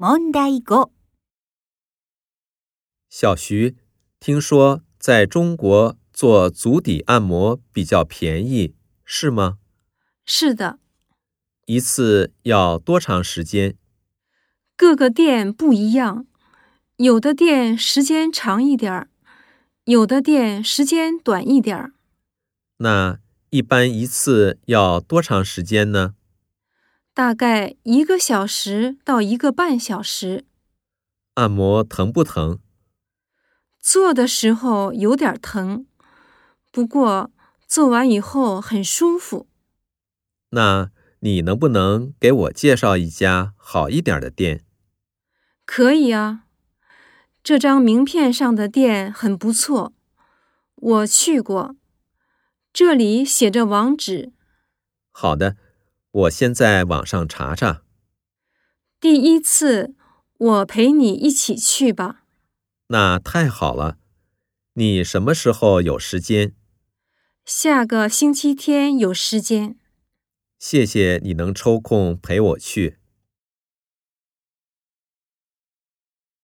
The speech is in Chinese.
問題5。 小徐，听说在中国做足底按摩比较便宜，是吗？ 是的， 一次要多长时间？ 各个店不一样，有的店时间长一点儿，有的店时间短一点儿。 那一般一次要多长时间呢？ 大概1个小时到1个半小时。 按摩疼不疼？ 做的时候有点疼，不过做完以后很舒服。 那你能不能给我介绍一家好一点的店？ 可以啊，这张名片上的店很不错，我去过，这里写着网址。 好的，我先在网上查查。 第一次，我陪你一起去吧。 那太好了，你什么时候有时间？ 下个星期天有时间。 谢谢你能抽空陪我去。